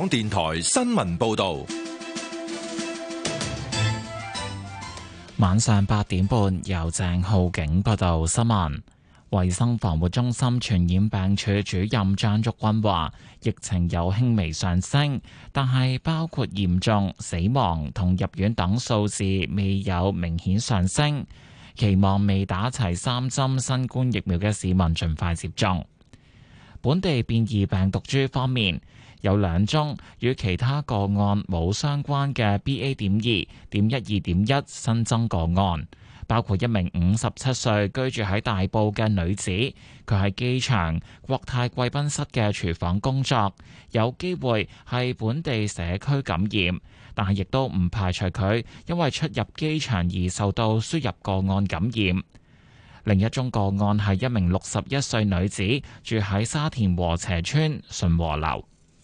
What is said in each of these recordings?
電台新聞報道。 晚上8點半，由鄭浩景報道新聞。衛生防護中心傳染病處主任張竹君話，疫情有輕微上升，但係包括嚴重、死亡同入院等數字未有明顯上升。期望未打齊3針新冠疫苗嘅市民盡快接種。本地變異病毒株方面，有2宗與其他個案冇相關嘅 BA.2.12.1 新增個案，包括一名57歲居住喺大埔嘅女子，佢喺機場國泰貴賓室嘅廚房工作，有機會係本地社區感染，但係亦都唔排除佢因為出入機場而受到輸入個案感染。另一宗個案係一名61歲女子，住喺沙田禾輋邨順和樓。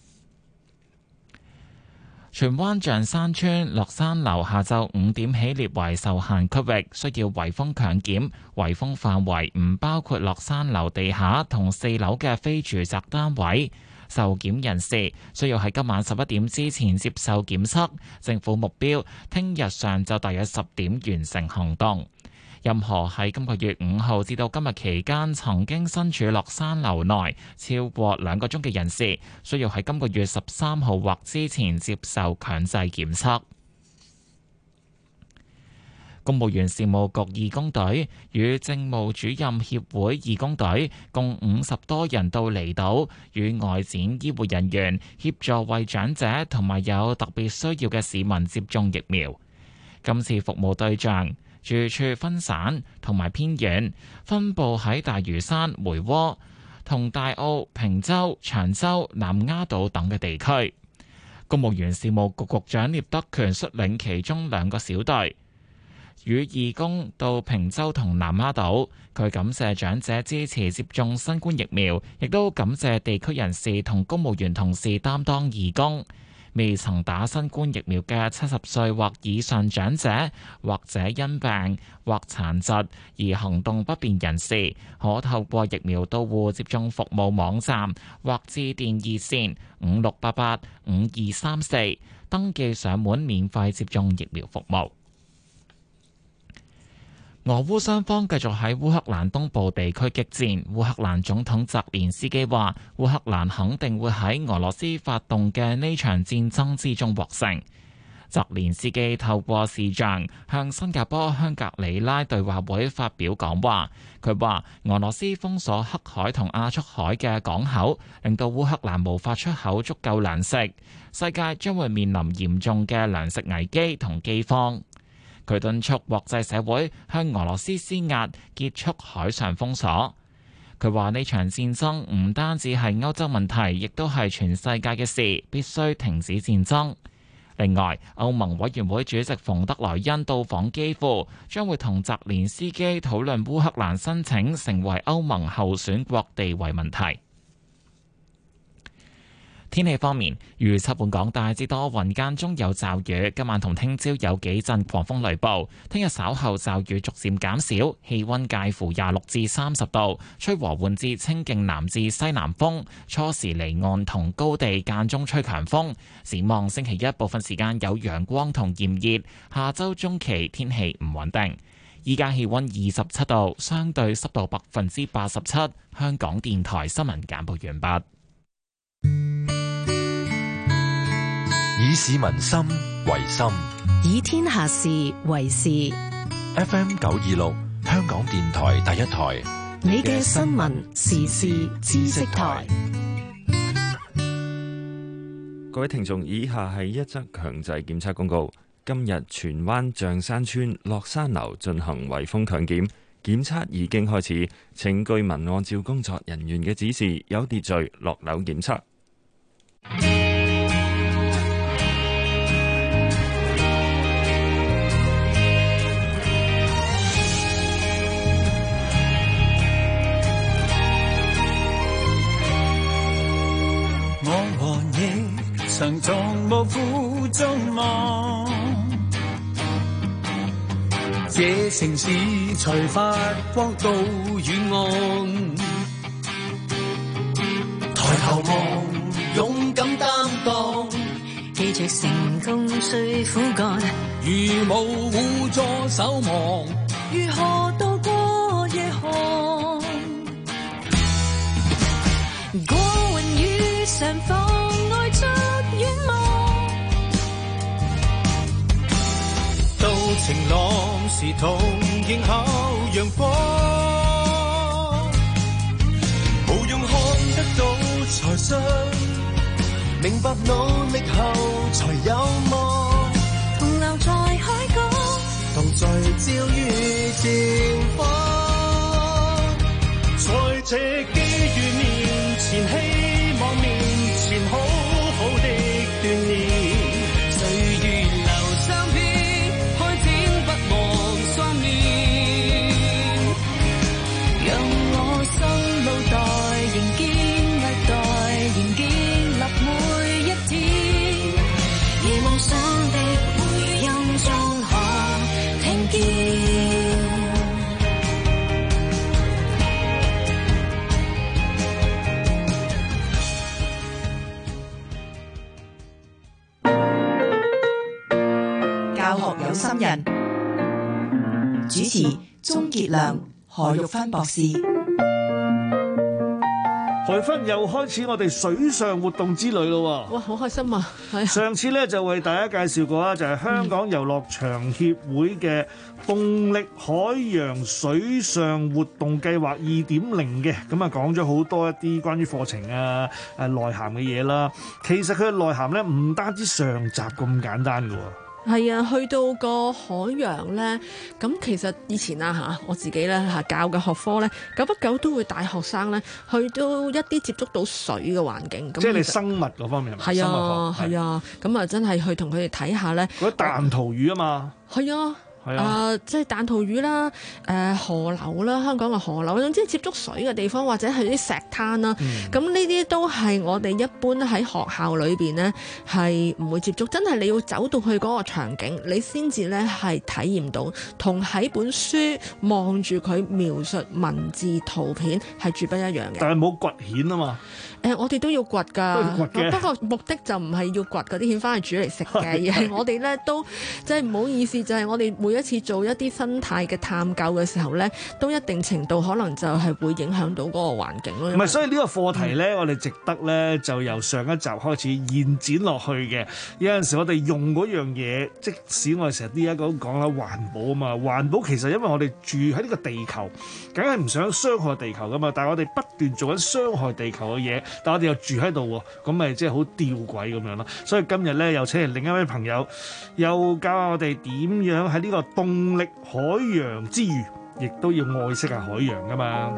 荃灣象山邨落山樓下晝5點起列為受限區域，需要圍封強檢。圍封範圍唔包括落山樓地下同4樓嘅非住宅單位。受檢人士需要喺今晚11點之前接受檢測。政府目標聽日上晝大約10點完成行動。任何喺今個月5號至到今日期間曾經身處落山樓內超過2個鐘嘅人士，需要喺今個月13號或之前接受強制檢測。公務員事務局義工隊與政務主任協會義工隊共50多人到離島，與外展醫護人員協助為長者同埋有特別需要嘅市民接種疫苗。今次服務對象住處分散同埋偏遠，分佈喺大嶼山、梅窩同大澳、坪洲、長洲、南丫島等嘅地區。公務員事務局局長聶德權率領其中2個小隊，與義工到坪洲同南丫島。佢感謝長者支持接種新冠疫苗，亦都感謝地區人士同公務員同事擔當義工。未曾打新冠疫苗嘅70歲或以上長者，或者因病或殘疾而行動不便人士，可透過疫苗到戶接種服務網站或致電熱線56885234登記上門免費接種疫苗服務。俄烏雙方繼續喺烏克蘭東部地區激戰。烏克蘭總統澤連斯基話，烏克蘭肯定會喺俄羅斯發動嘅呢場戰爭之中獲勝。澤連斯基透過視像向新加坡香格里拉對話會發表講話。佢話俄羅斯封鎖黑海同亞速海嘅港口，令到烏克蘭無法出口足夠糧食，世界將會面臨嚴重嘅糧食危機同饑荒。佢敦促國際社會向俄羅斯施壓，結束海上封鎖。佢話呢場戰爭唔單止係歐洲問題，亦都係全世界嘅事，必須停止戰爭。另外，歐盟委員會主席馮德萊恩到訪基輔，將會同澤連斯基討論烏克蘭申請成為歐盟候選國地位問題。天氣方面，預測本港大致多雲，間中有驟雨，今晚同聽朝有幾陣狂風雷暴。聽日稍後驟雨逐漸減少，氣溫介乎26至30度，吹和緩至清勁南至西南風，初時離岸同高地間中吹強風。展望星期一部分時間有陽光同炎熱，下周中期天氣唔穩定。依家氣溫27度，相對濕度87%。香港電台新聞簡報完畢。 以市民心為心， 以天下事為事。 FM 926，香港電台第一台， 你嘅新聞時事知識台。 各位聽眾，以下係一則強制檢測公告。今日荃灣象山邨落山樓進行圍封強檢，檢測已經開始，請居民按照工作人員嘅指示，有秩序落樓檢測。 常從無負眾望，這城市才發光到遠岸。抬頭望，勇敢擔當。 記着成功需苦幹， 如無互助守望， 如何渡過夜寒？過雲雨上妨礙着遠望， 到晴朗時同迎候陽光，無用看得到才信，明白努力後才有望， 同留在海港， 同聚焦於前方，在這機遇面前，希望面前好好的鍛鍊， 歲月流相片，開展不忘雙面，讓我心腦袋仍堅額待，仍建立每一天，而夢想的回音中可聽見。 教學有心人，主持鍾傑良、何玉芬博士。 何芬又開始我哋水上活動之旅咯喎！ 哇，好開心啊！係啊， 上次咧就為大家介紹過啦，就係香港遊樂場協會嘅動力海洋水上活動計劃2.0嘅，咁啊講咗好多一啲關於課程啊、內涵嘅嘢啦。其實佢嘅內涵咧唔單止上集咁簡單㗎喎。 係啊，去到個海洋咧，咁其實以前我自己咧教嘅學科咧，久不久都會帶學生咧去到一啲接觸到水嘅環境。 即係你生物嗰方面係咪？ 係啊，係啊，咁啊真係去同佢哋睇下咧。 嗰啲彈塗魚啊嘛。係啊。 即係彈塗魚啦，河流啦，香港嘅河流，總之接觸水嘅地方或者係啲石灘啦，咁呢啲都係我哋一般喺學校裏邊呢係唔會接觸，真係你要走到去嗰個場景，你先至呢係體驗到，同喺本書望住佢描述文字圖片係絕不一樣嘅。 但係冇掘蜆啊嘛。 我哋都要掘㗎，不過目的就唔係要掘嗰啲蜆翻去煮嚟食嘅，而係我哋咧都即係唔好意思，就係我哋每一次做一啲生態嘅探究嘅時候咧，都一定程度可能就係會影響到嗰個環境咯。 唔係，所以呢個課題咧，我哋值得咧就由上一集開始延展落去嘅。有陣時我哋用嗰樣嘢，即使我哋成日呢一個講啦環保啊嘛，環保其實因為我哋住喺呢個地球，梗係唔想傷害地球噶嘛，但係我哋不斷做緊傷害地球嘅嘢。但我哋又住喺度喎，咁咪即係好吊詭咁樣咯。所以今日咧又請嚟另一位朋友，又教下我哋點樣喺呢個動力海洋之餘，亦都要愛惜下海洋噶嘛。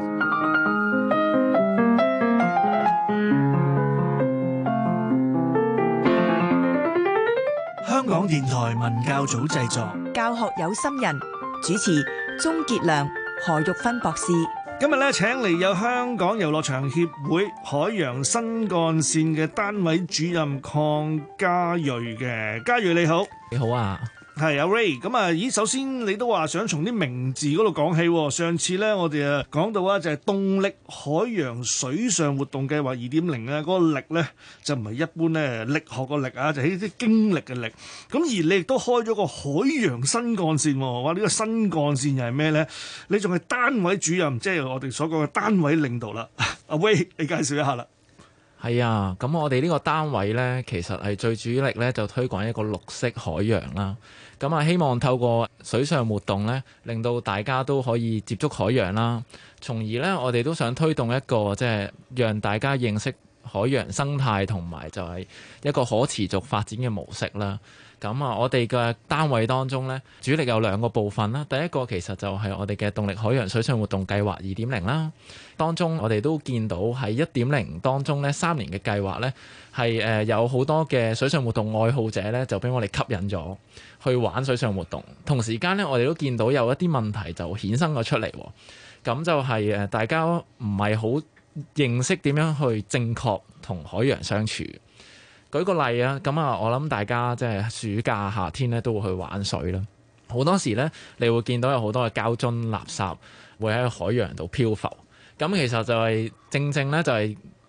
香港電台文教組製作， 教學有心人，主持鍾傑良、何玉芬博士。 今日咧請嚟有香港遊樂場協會海洋新幹線嘅單位主任鄺家睿嘅。家睿你好。 你好啊。 係阿 Ray， 咁啊，咦，首先你都話想從啲名字嗰度講起。上次咧我哋啊講到啊就係動力海洋水上活動計劃2.0咧，嗰個力咧就唔係一般咧力學個力啊，就係啲經歷嘅力。咁而你亦都開咗個海洋新幹線，哇！呢個新幹線又係咩咧？你仲係單位主任，即係我哋所講嘅單位領導啦。阿 Ray，你介紹一下啦。 係啊，咁我哋呢個單位呢，其實係最主力呢，就推廣一個綠色海洋啦。咁啊，希望透過水上活動呢，令到大家都可以接觸海洋啦。從而呢，我哋都想推動一個即係讓大家認識海洋生態同埋就係一個可持續發展嘅模式啦。咁啊，我哋嘅單位當中呢，主力有2個部分啦。第一個其實就係我哋嘅動力海洋水上活動計劃2.0啦。當中我哋都見到喺1.0當中呢，3年嘅計劃呢，係有好多嘅水上活動愛好者呢，就俾我哋吸引咗去玩水上活動。同時間呢，我哋都見到有一啲問題就衍生咗出嚟。咁就係大家唔係好認識點樣去正確同海洋相處。舉個例啊，咁啊，我諗大家即係暑假夏天咧都會去玩水啦。好多時咧，你會見到有好多嘅膠樽垃圾會喺海洋度漂浮。咁其實就係正正咧，就係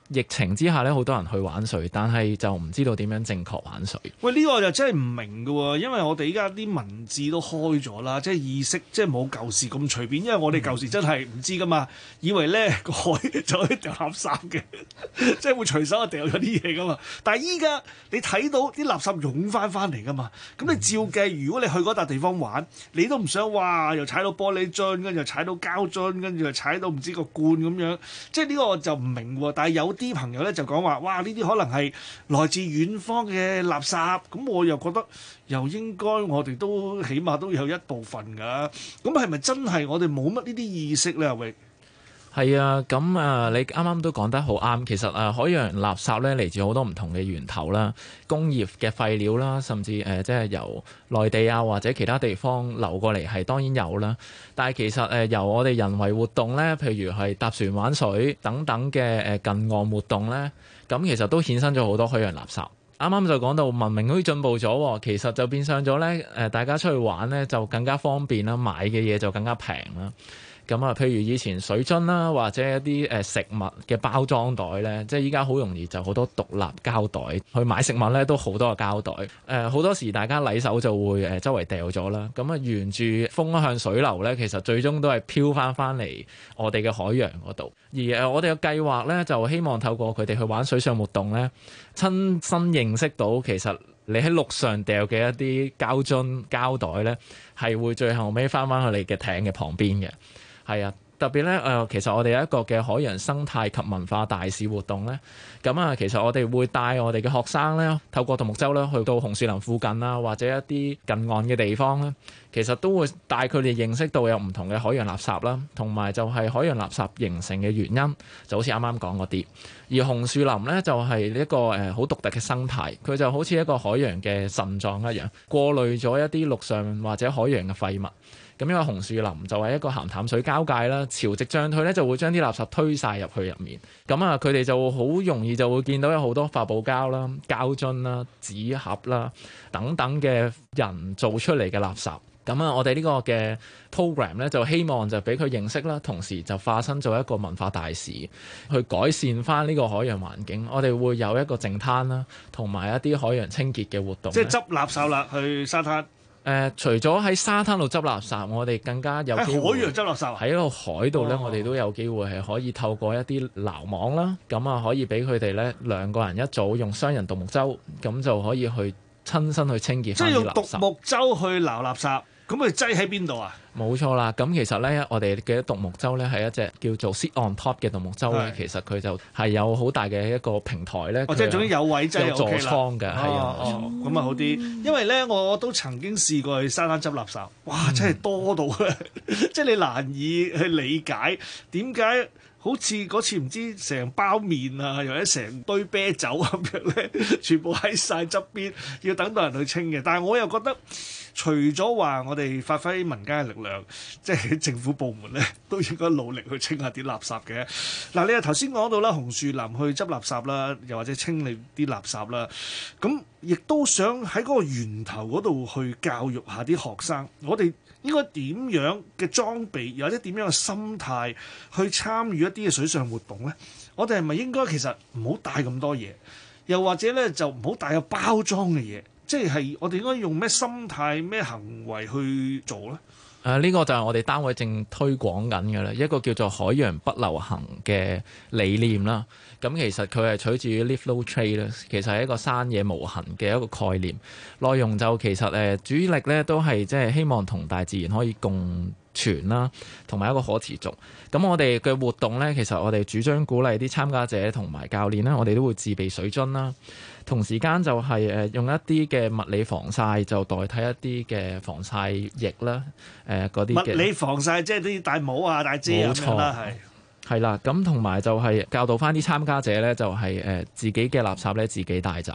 疫情之下咧，好多人去玩水，但係就唔知道點樣正確玩水。 喂，呢個就真係唔明嘅喎，因為我哋依家啲文字都開咗啦，即係意識即係冇舊時咁隨便，因為我哋舊時真係唔知噶嘛，以為咧個海就可以掉垃圾嘅，即係會隨手就掉咗啲嘢噶嘛。但係依家你睇到啲垃圾湧翻嚟噶嘛，咁你照計，如果你去嗰笪地方玩，你都唔想哇又踩到玻璃樽，跟住又踩到膠樽，跟住又踩到唔知個罐咁樣，即係呢個我就唔明喎。但係有啲朋友咧就講話，哇！呢啲可能係來自遠方嘅垃圾，咁我又覺得又應該我哋都起碼都有一部分㗎。咁係咪真係我哋冇乜呢啲意識咧？阿榮？ 係啊，咁啊，你啱啱都講得好啱。其實海洋垃圾咧嚟自好多唔同嘅源頭啦，工業嘅廢料啦，甚至即係由內地啊或者其他地方流過嚟係當然有啦。但係其實由我哋人為活動咧，譬如係搭船玩水等等嘅近岸活動咧，咁其實都衍生咗好多海洋垃圾。啱啱就講到文明好似進步咗，其實就變相咗咧大家出去玩咧就更加方便啦，買嘅嘢就更加平啦。咁啊，譬如以前水樽啦，或者一啲食物嘅包裝袋咧，即係依家好容易就好多獨立膠袋，去買食物咧都好多個膠袋。好多時大家禮手就會周圍掉咗啦。咁啊，沿住風向水流咧，其實最終都係飄翻嚟我哋嘅海洋嗰度。而我哋嘅計劃咧，就希望透過佢哋去玩水上活動咧，親身認識到其實你喺陸上掉嘅一啲膠樽膠袋咧，係會最後尾翻去你嘅艇嘅旁邊嘅。係啊，特別咧其實我哋有一個嘅海洋生態及文化大使活動咧，咁啊，其實我哋會帶我哋嘅學生咧，透過獨木舟咧去到紅樹林附近啊，或者一啲近岸嘅地方咧，其實都會帶佢哋認識到有唔同嘅海洋垃圾啦，同埋就係海洋垃圾形成嘅原因，就好似啱啱講嗰啲。而紅樹林咧就係一個好獨特嘅生態，佢就好似一個海洋嘅腎臟一樣，過濾咗一啲陸上或者海洋嘅廢物。咁因為紅樹林就係一個鹹淡水交界啦，潮汐漲退咧就會將啲垃圾推晒入去入面。咁啊，佢哋就好容易就會見到有好多發泡膠啦、膠樽啦、紙盒啦等等嘅人做出嚟嘅垃圾。咁啊，我哋呢個嘅 program 咧就希望就俾佢認識啦，同時就化身做一個文化大使，去改善翻呢個海洋環境。我哋會有一個淨灘啦，同埋一啲海洋清潔嘅活動。 即係執垃圾啦，去沙灘。 除咗喺沙灘度執垃圾，我哋更加有機會喺海洋執垃圾。 喺個海度咧，我哋都有機會係可以透過一啲撈網啦，咁啊可以俾佢哋咧2個人一組，用雙人獨木舟，咁就可以去親身去清潔翻啲垃圾。即係用獨木舟去撈垃圾。咁佢擠喺邊度啊？ 冇錯啦，咁其實咧，我哋嘅獨木舟咧係一隻叫做 sit on top 嘅獨木舟咧，其實佢就係有好大嘅一個平台咧。 即係總之有位擠有座艙嘅，係啊，冇錯。 咁啊好啲，因為咧我都曾經試過去沙灘執垃圾，哇！真係多到即係你難以去理解點解好似嗰次唔知成包麵啊，又或者成堆啤酒咁樣咧，全部喺晒側邊，要等到人去清嘅。但係我又覺得，除咗話我哋發揮民間嘅力量，即係政府部門咧都應該努力去清下啲垃圾嘅。嗱，你又頭先講到啦，紅樹林去執垃圾啦，又或者清理啲垃圾啦，咁亦都想喺嗰個源頭嗰度去教育下啲學生，我哋應該點樣嘅裝備，又或者點樣嘅心態去參與一啲嘅水上活動咧？我哋係咪應該其實唔好帶咁多嘢，又或者咧就唔好帶有包裝嘅嘢？即係我哋應該用咩心態、咩行為去做咧？ 呢個就係我哋單位正推廣緊嘅啦，一個叫做海洋不流行嘅理念啦。咁其實佢係取自於 Live Low Trade 啦，其實係一個山野無痕嘅一個概念。內容就其實主力咧都係即係希望同大自然可以共存啦，同埋一個可持續。咁我哋嘅活動咧，其實我哋主張鼓勵啲參加者同埋教練啦，我哋都會自備水樽啦。同時間就係用一啲嘅物理防曬，就代替一啲嘅防曬液啦。嗰啲嘅物理防曬即係啲戴帽啊、戴遮咁樣啦， 係啦。咁同埋就係教導翻啲參加者咧，就係自己嘅垃圾咧自己帶走。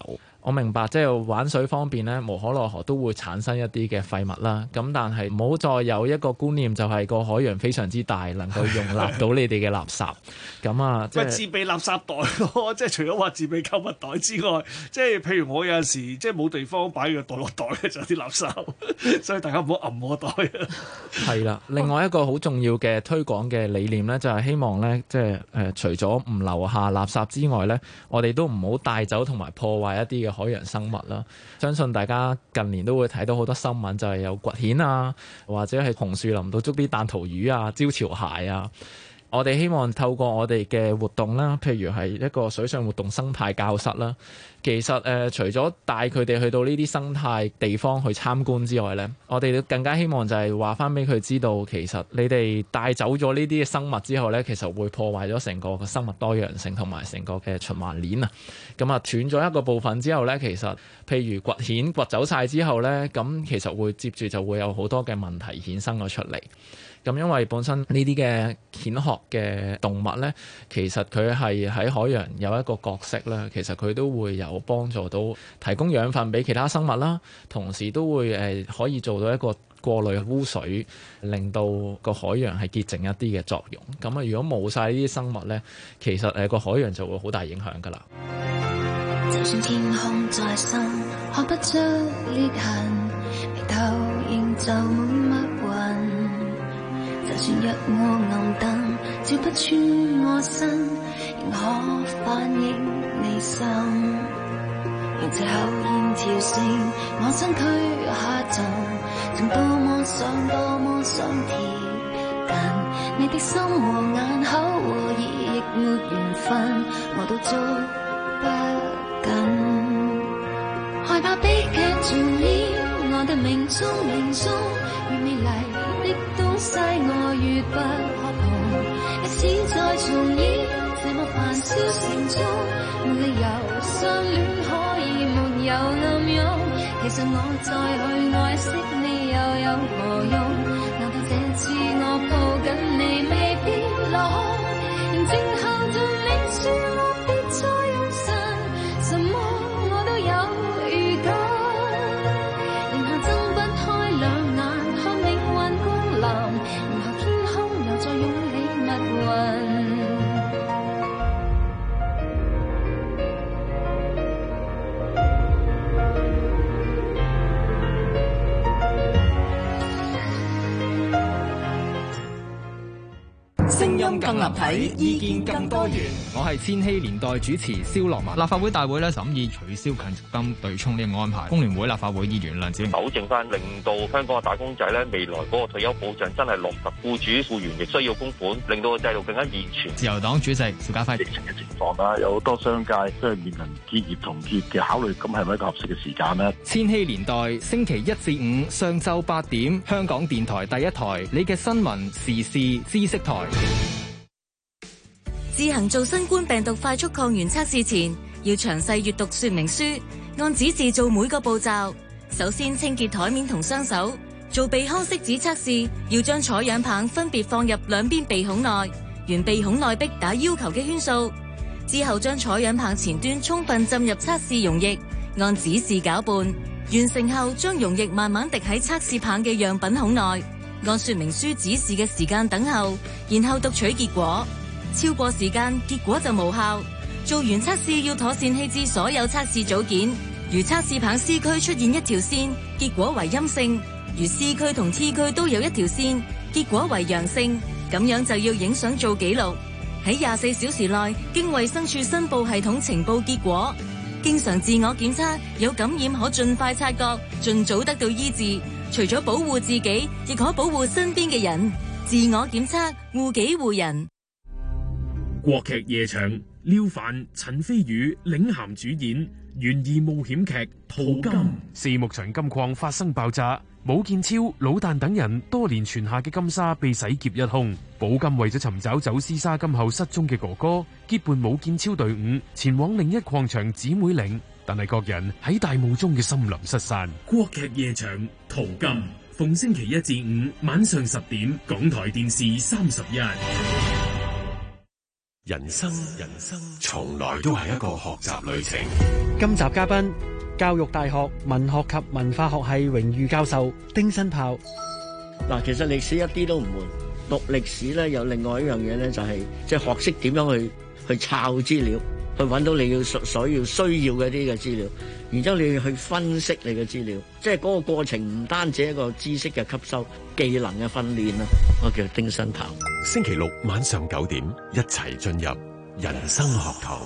我明白，即係玩水方面咧，無可奈何都會產生一啲嘅廢物啦。咁但係唔好再有一個觀念，就係個海洋非常之大，能夠容納到你哋嘅垃圾。咁啊，即係自備垃圾袋咯，即係除咗話自備購物袋之外，即係譬如我有陣時即係冇地方擺個袋落袋嘅就有啲垃圾，所以大家唔好揞我袋啊。 係啦，另外一個好重要嘅推廣嘅理念咧，就係希望咧，即係除咗唔留下垃圾之外咧，我哋都唔好帶走同埋破壞一啲嘅海洋生物啦。相信大家近年都會睇到好多新聞，就係有掘蜆啊，或者係紅樹林度捉啲彈塗魚啊、招潮蟹啊。我哋希望透過我哋嘅活動啦，譬如係一個水上活動生態教室啦。其實除咗帶佢哋去到呢啲生態地方去參觀之外呢，我哋更加希望就係話翻俾佢知道，其實你哋帶走咗呢啲生物之後呢，其實會破壞咗成個生物多樣性同埋成個嘅循環鏈啊。咁啊，斷咗一個部分之後呢，其實譬如掘蜆掘走晒之後呢，咁其實會接住就會有好多嘅問題衍生咗出嚟。咁因為本身呢啲嘅蜆殼嘅動物呢，其實佢係喺海洋有一個角色啦，其實佢都會有幫助到提供養分俾其他生物啦，同時都會可以做到一個過濾污水，令到個海洋係潔淨一啲嘅作用。咁啊，如果冇晒呢啲生物呢，其實個海洋就會好大影響㗎啦。 就算天空再深，看不出裂痕，眉頭仍就滿密雲。就算日暮暗燈照不穿我身，仍可反映你心。用這口煙跳升我身軀下沉，曾多麼想貼近你的心和眼口和耳，亦沒緣分，我都捉不緊。害怕悲劇重演我的命中，越美麗的東西我越不可碰，一次再重演這麼煩囂城中，沒理由相戀可以沒有暗湧。其實我再去愛惜你又有何用？難道這次我抱緊你未必落空？仍靜候着你說我別再用神，什麼我都有預感。然後睜不開兩眼看命運光臨，然後天空又再湧起密雲。 聲音更立體，意見更多元。 我係千禧年代主持蕭樂文。立法會大會審議取消強積金對沖呢個安排。工聯會立法會議員梁子玲糾正翻，令到香港嘅打工仔未來嗰個退休保障真係落實，僱主僱員亦需要供款，令到個制度更加健全。 自由黨主席邵家輝， 疫情嘅情況啦，有好多商界都係面臨結業同結嘅考慮，咁係咪一個合適嘅時間呢？ 千禧年代星期一至五上晝8點，香港電台第一台，你嘅新聞時事知識台。 自行做新冠病毒快速抗原測試前，要詳細閱讀說明書，按指示做每個步驟。首先清潔台面同雙手。做鼻腔拭子測試，要將採樣棒分別放入兩邊鼻孔內，沿鼻孔內壁打要求嘅圈數。之後將採樣棒前端充分浸入測試溶液，按指示攪拌。完成後，將溶液慢慢滴喺測試棒嘅樣品孔內，按說明書指示嘅時間等候，然後讀取結果。超過時間，結果就無效。做完測試要妥善棄置所有測試組件。如測試棒 C 區出現一條線，結果為陰性；如 C 區同 T 區都有一條線，結果為陽性。咁樣就要影相做記錄，喺24小時內經衛生署申報系統呈報結果。經常自我檢測，有感染可盡快察覺，盡早得到醫治。除咗保護自己，亦可保護身邊嘅人。自我檢測，護己護人。 國劇夜場，廖凡、陳飛宇領銜主演懸疑冒險劇《淘金》。四牧場金礦發生爆炸，武建超、老旦等人多年存下嘅金沙被洗劫一空。寶金為咗尋找走私沙金後失蹤嘅哥哥，結伴武建超隊伍前往另一礦場姊妹嶺，但係各人喺大霧中嘅森林失散。國劇夜場《淘金》，逢星期一至五晚上10點，港台電視31。 人生從來都係一個學習旅程。 今集嘉賓教育大學文學及文化學系榮譽教授丁新豹。 嗱，其實歷史一啲都唔悶，讀歷史咧有另外一樣嘢咧，就係即係學識點樣去抄資料，去揾到你所要需要嘅啲嘅資料，然之後你要去分析你嘅資料，即係嗰個過程唔單止一個知識嘅吸收、技能嘅訓練啦。我叫丁新豹。 星期六晚上9點，一齊進入人生學堂。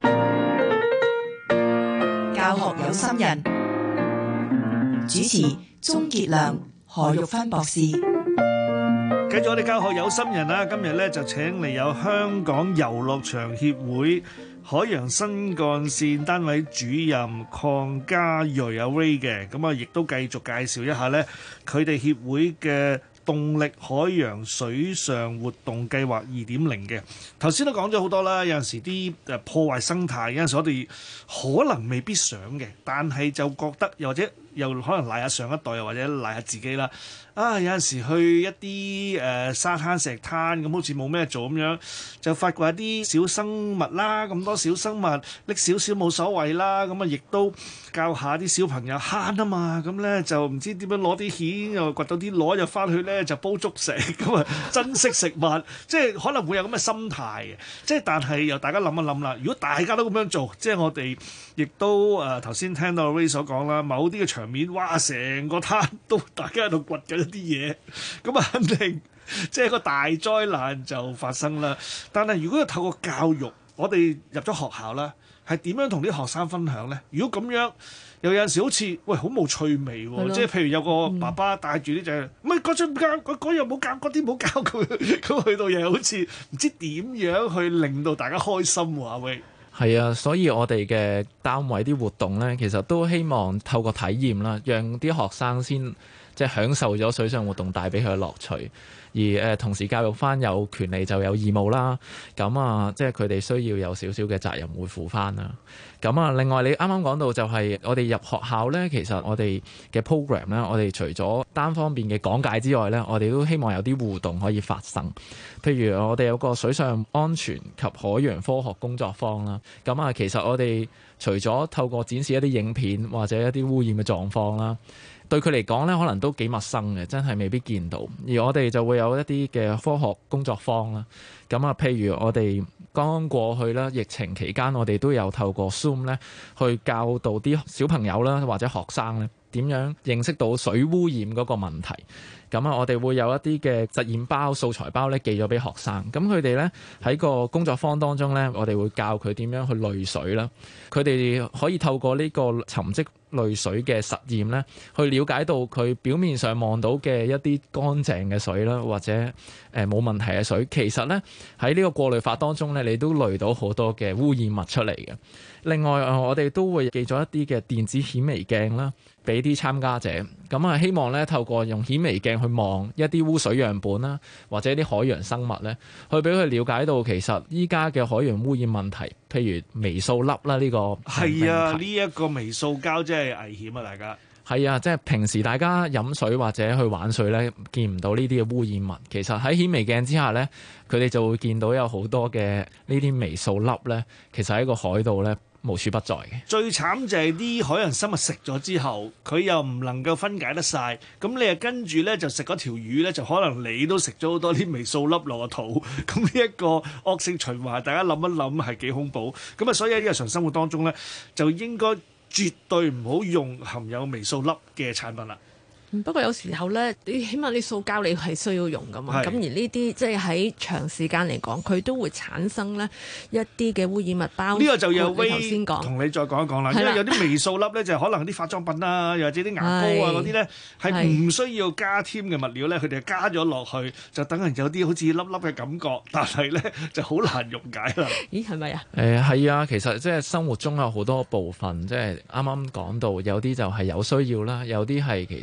教學有心人，主持鍾傑良、何玉芬博士。 繼續我哋教學有心人啦，今日咧就請嚟有香港遊樂場協會海洋新幹線單位主任鄺家睿阿 Ray 嘅，咁啊亦都繼續介紹一下咧佢哋協會嘅動力海洋水上活動計劃2.0嘅。頭先都講咗好多啦，有陣時啲破壞生態，有陣時我哋可能未必想嘅，但係就覺得又或者又可能賴下上一代，又或者賴下自己啦。啊，有陣時去一啲沙灘石灘咁，好似冇咩做咁樣，就發掘一啲小生物啦，咁多小生物拎少少冇所謂啦，咁啊亦都教下啲小朋友慳啊嘛，咁咧就唔知點樣攞啲蜆又掘到啲螺又翻去咧就煲粥食，咁啊珍惜食物，即係可能會有咁嘅心態嘅，即係但係又大家諗一諗啦，如果大家都咁樣做，即係我哋亦都頭先聽到 Ray 所講啦，某啲嘅場面，哇，成個灘都大家喺度掘緊啲嘢，咁啊肯定即係個大災難就發生啦。但係如果要透過教育，我哋入咗學校啦，係點樣同啲學生分享呢？如果咁樣，又有陣時好似喂好冇趣味喎，即係譬如有個爸爸帶住啲仔，唔係嗰陣唔教，嗰樣冇教，嗰啲冇教佢，咁去到又好似唔知點樣去令到大家開心喎，喂。 係啊，所以我哋嘅單位啲活動呢，其實都希望透過體驗啦，讓啲學生先即係享受咗水上活動帶俾佢嘅樂趣，而同時教育翻有權利就有義務啦。咁啊，即係佢哋需要有少少嘅責任會負翻啦。咁啊，另外你啱啱講到就係我哋入學校呢，其實我哋嘅 program 呢，我哋除咗單方面嘅講解之外呢，我哋都希望有啲互動可以發生。譬如我哋有個水上安全及海洋科學工作坊啦。咁啊，其實我哋除咗透過展示一啲影片或者一啲污染嘅狀況啦，對佢嚟講咧，可能都幾陌生嘅，真係未必見到。而我哋就會有一啲嘅科學工作坊啦。咁啊，譬如我哋剛剛過去啦，疫情期間，我哋都有透過 Zoom 咧，去教導啲小朋友啦，或者學生咧，點樣認識到水污染嗰個問題。咁啊，我哋會有一啲嘅實驗包、素材包咧，寄咗俾學生。咁佢哋咧喺個工作坊當中咧，我哋會教佢點樣去濾水啦。佢哋可以透過呢個沉積濾水嘅實驗咧，去了解到佢表面上望到嘅一啲乾淨嘅水啦，或者冇問題嘅水，其實咧喺呢個過濾法當中咧，你都濾到好多嘅污染物出嚟嘅。另外我哋都會寄咗一啲嘅電子顯微鏡啦，俾啲參加者。咁啊，希望咧透過用顯微鏡去望一啲污水樣本啦，或者啲海洋生物咧，去俾佢了解到其實依家嘅海洋污染問題，譬如微塑粒啦，呢個係啊，呢一個微塑膠真係危險啊！大家係啊，即係平時大家飲水或者去玩水咧，見唔到呢啲嘅污染物。其實喺顯微鏡之下咧，佢哋就會見到有好多嘅呢啲微塑粒咧，其實喺個海度咧無處不在嘅。最慘就係啲海洋生物食咗之後，佢又唔能夠分解得晒。咁你又跟住咧就食嗰條魚咧，就可能你都食咗好多啲微塑粒落個肚。咁呢一個惡性循環，大家諗一諗係幾恐怖。咁啊，所以喺日常生活當中咧，就應該絕對唔好用含有微塑粒嘅產品啦。 不過有時候咧，你起碼啲塑膠你係需要用噶嘛，咁而呢啲即係喺長時間嚟講，佢都會產生咧一啲嘅污染物包。 呢個就有你頭先講， 同你再講一講啦。因為有啲微塑粒咧，就可能啲化妝品啊，又或者啲牙膏啊嗰啲咧，係唔需要加添嘅物料咧，佢哋加咗落去，就等人有啲好似粒粒嘅感覺，但係咧就好難溶解啦。 咦，係咪啊？ 係啊，其實即係生活中有好多部分，即係啱啱講到有啲就係有需要啦，有啲係其實冇需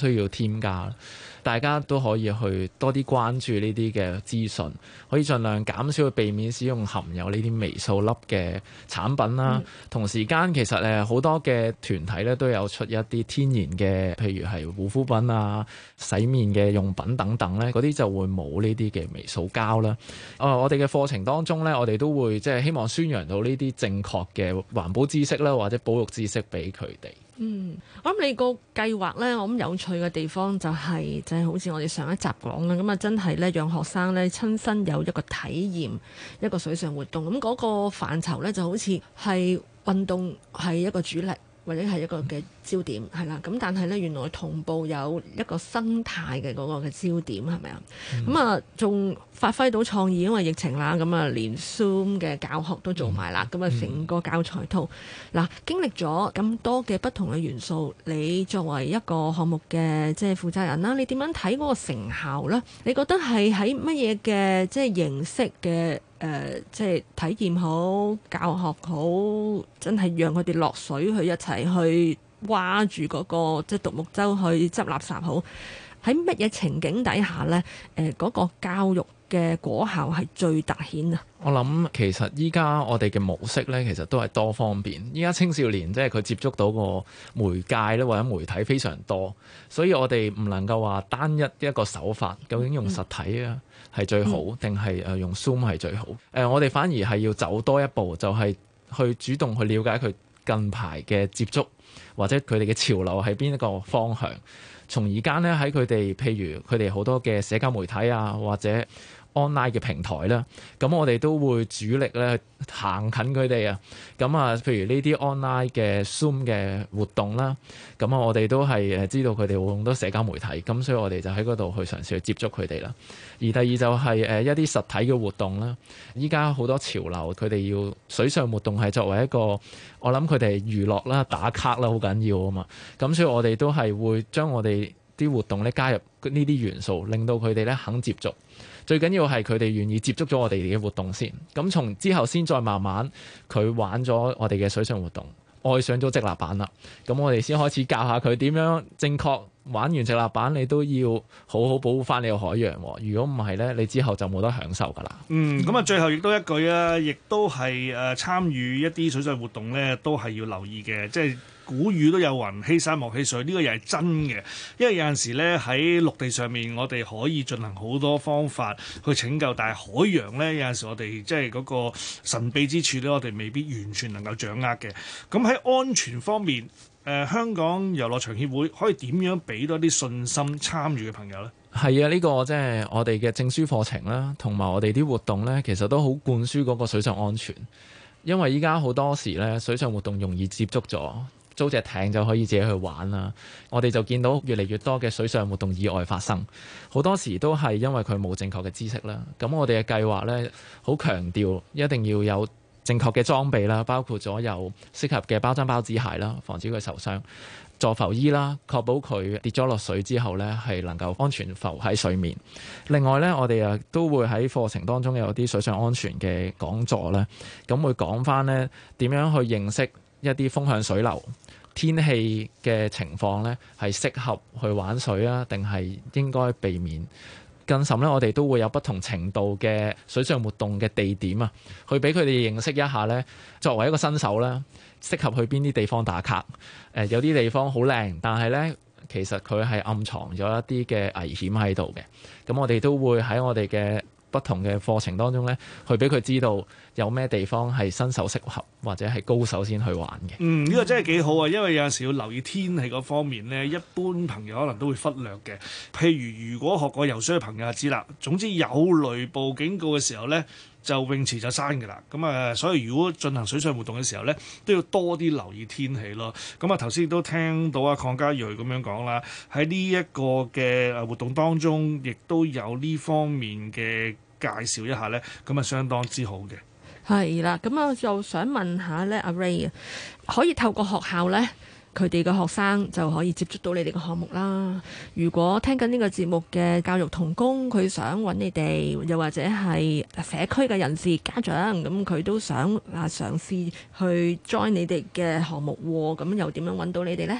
需要添加。大家都可以去多啲關注呢啲嘅資訊，可以盡量減少去避免使用含有呢啲微塑粒嘅產品啦。同時間其實好多嘅團體咧都有出一啲天然嘅，譬如係護膚品啊、洗面嘅用品等等咧，嗰啲就會冇呢啲嘅微塑膠啦。我哋嘅課程當中咧，我哋都會即係希望宣揚到呢啲正確嘅環保知識啦，或者保育知識俾佢哋。 我諗你個計劃咧，我諗有趣嘅地方就係好似我哋上一集講啦，咁啊真係咧讓學生咧親身有一個體驗一個水上活動，咁嗰個範疇咧就好似係運動係一個主力，或者係一個嘅焦點係啦，咁但係咧原來同步有一個生態嘅嗰個嘅焦點係咪啊？咁啊仲發揮到創意，因為疫情啦，咁啊連 Zoom 嘅教學都做埋啦，咁啊成個教材套嗱經歷咗咁多嘅不同嘅元素，你作為一個項目嘅即係負責人啦，你點樣睇嗰個成效咧？你覺得係喺乜嘢嘅即係形式嘅即係體驗好、教學好，真係讓佢哋落水去一齊去挖住嗰個即係獨木舟去執垃圾好？喺乜嘢情景底下呢？嗰個教育嘅果效係最突顯啊！ 我諗其實依家我哋嘅模式呢，其實都係多方面。依家青少年即係佢接觸到個媒介咧，或者媒體非常多，所以我哋唔能夠話單一個手法，究竟用實體啊係最好，定係用 Zoom 係最好？我哋反而係要走多一步，就係去主動去了解佢近排嘅接觸，或者佢哋嘅潮流喺邊一個方向。從而間咧喺佢哋，譬如佢哋好多嘅社交媒體啊，或者 online 嘅平台啦，咁我哋都會主力咧行近佢哋啊。咁啊，譬如呢啲 online 嘅 Zoom 嘅活動啦，咁啊，我哋都係知道佢哋會用多社交媒體，咁所以我哋就喺嗰度去嘗試去接觸佢哋啦。而第二就係一啲實體嘅活動啦。依家好多潮流，佢哋要水上活動係作為一個，我諗佢哋娛樂啦、打卡啦，好緊要啊嘛。咁所以我哋都係會將我哋啲活動咧加入呢啲元素，令到佢哋咧肯接觸。最緊要係佢哋願意接觸咗我哋嘅活動先，咁從之後先再慢慢佢玩咗我哋嘅水上活動，愛上咗直立板啦，咁我哋先開始教下佢點樣正確玩完直立板，你都要好好保護翻你個海洋。如果唔係呢，你之後就冇得享受噶啦。 咁啊，最後亦都一句啊，亦都係參與一啲水上活動呢，都係要留意嘅，即係古語都有云：欺山莫欺水，呢個又係真嘅。因為有陣時咧喺陸地上面，我哋可以進行好多方法去拯救，但係海洋咧有陣時我哋即係嗰個神秘之處咧，我哋未必完全能夠掌握嘅。咁喺安全方面，香港遊樂場協會可以點樣俾多啲信心參與嘅朋友咧？ 係啊，呢個即係我哋嘅證書課程啦，同埋我哋啲活動咧，其實都好灌輸嗰個水上安全。因為依家好多時咧，水上活動容易接觸咗。租隻艇就可以自己去玩啦，我哋就見到越嚟越多嘅水上活動意外發生，好多時都係因為佢冇正確嘅知識啦。咁我哋嘅計劃呢，好強調一定要有正確嘅裝備啦，包括咗有適合嘅包針包子鞋啦，防止佢受傷；助浮衣啦，確保佢跌咗落水之後呢，係能夠安全浮喺水面。另外呢，我哋都會喺課程當中有啲水上安全嘅講座啦，咁會講返呢點樣去認識一啲風向水流、天氣嘅情況呢，係適合去玩水啊，定係應該避免？更甚呢，我哋都會有不同程度嘅水上活動嘅地點啊，去俾佢哋認識一下呢。作為一個新手呢，適合去邊啲地方打卡？有啲地方好靚，但係呢，其實佢係暗藏咗一啲嘅危險喺度嘅。咁我哋都會喺我哋嘅不同嘅課程當中呢，去俾佢知道有咩地方係新手適合，或者係高手先去玩嘅。 呢個真係幾好啊！因為有陣時要留意天氣嗰方面呢，一般朋友可能都會忽略嘅。譬如果學過游水嘅朋友就知啦，總之有雷暴警告嘅時候呢，就泳池就閂㗎啦。咁啊，所以如果進行水上活動嘅時候呢，都要多啲留意天氣咯。咁啊，頭先亦都聽到阿鄺家睿咁樣講啦，喺呢一個嘅活動當中，亦都有呢方面嘅介紹一下呢，咁啊相當之好嘅。 係啦，咁我就想問下咧，阿 Ray 啊，可以透過學校咧，佢哋嘅學生就可以接觸到你哋嘅項目啦。如果聽緊呢個節目嘅教育同工，佢想揾你哋，又或者係社區嘅人士、家長，咁佢都想嘗試去 join 你哋嘅項目喎，咁又點樣揾到你哋呢？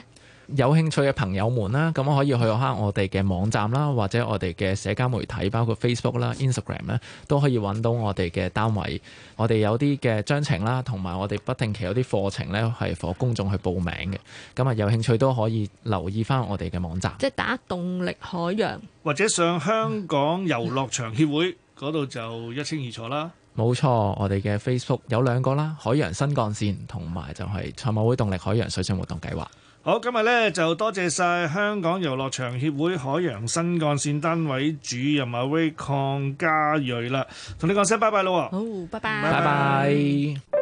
有興趣嘅朋友們啦，咁可以去下我哋嘅網站啦，或者我哋嘅社交媒體，包括 Facebook 啦、Instagram 咧，都可以揾到我哋嘅單位。我哋有啲嘅章程啦，同埋我哋不定期有啲課程咧，係俾公眾去報名嘅。咁啊，有興趣都可以留意翻我哋嘅網站， 即係打動力海洋， 或者上香港遊樂場協會嗰度就一清二楚啦。 冇錯，我哋嘅 Facebook 有2個啦，海洋新幹線同埋就係賽馬會動力海洋水上活動計劃。 好，今日咧就多謝晒香港遊樂場協會海洋新幹線單位主任阿威鄺家睿啦，同你講聲拜拜咯。 好，拜拜。 拜拜。